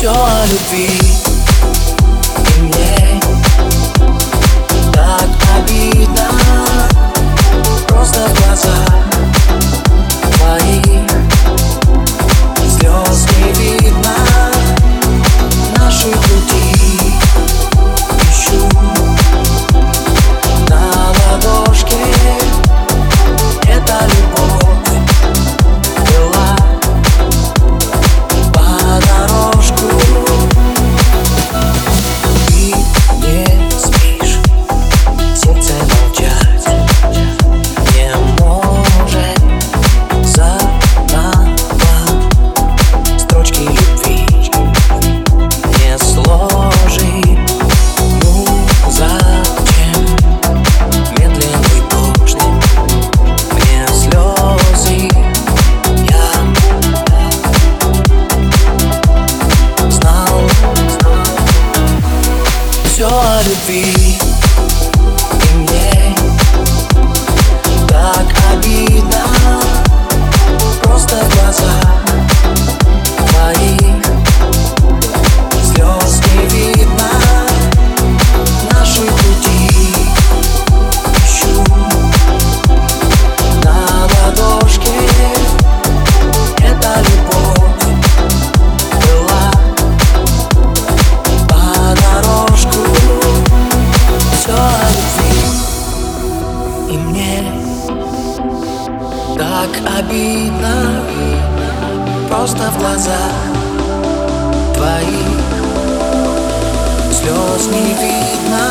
Все о любви, и мне так обидно. Просто в глазах твоих слез не видно. Наши пути ищу на ладошке. Эта любовь была по дорожку. Ты не спишь, сердце молчать не может. Заново строчки любви не сложить. Ну зачем медленный дождь мне слезы? Я знал все о любви, и мне так обидно. Просто в глазах твоих слез не видно. Наши пути ищу на ладошке. Эта любовь была по дорожку. Все о любви, и мне так обидно. Просто в глазах твоих слез не видно.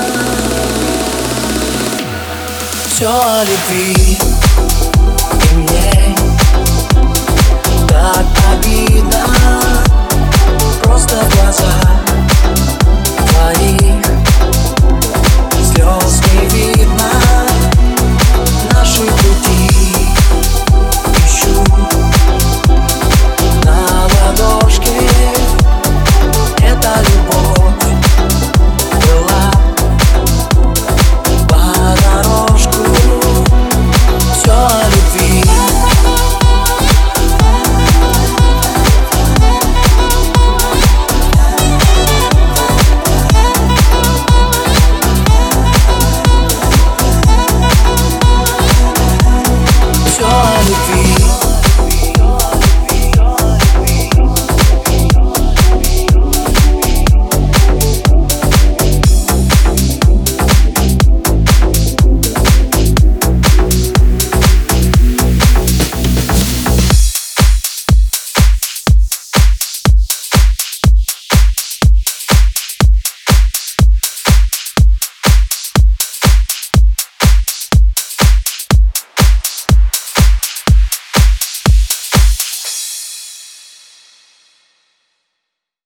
Все о любви, и мне так обидно.